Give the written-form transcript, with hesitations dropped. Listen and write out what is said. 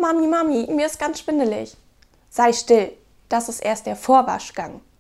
Mami, Mami, mir ist ganz schwindelig. Sei still, das ist erst der Vorwaschgang.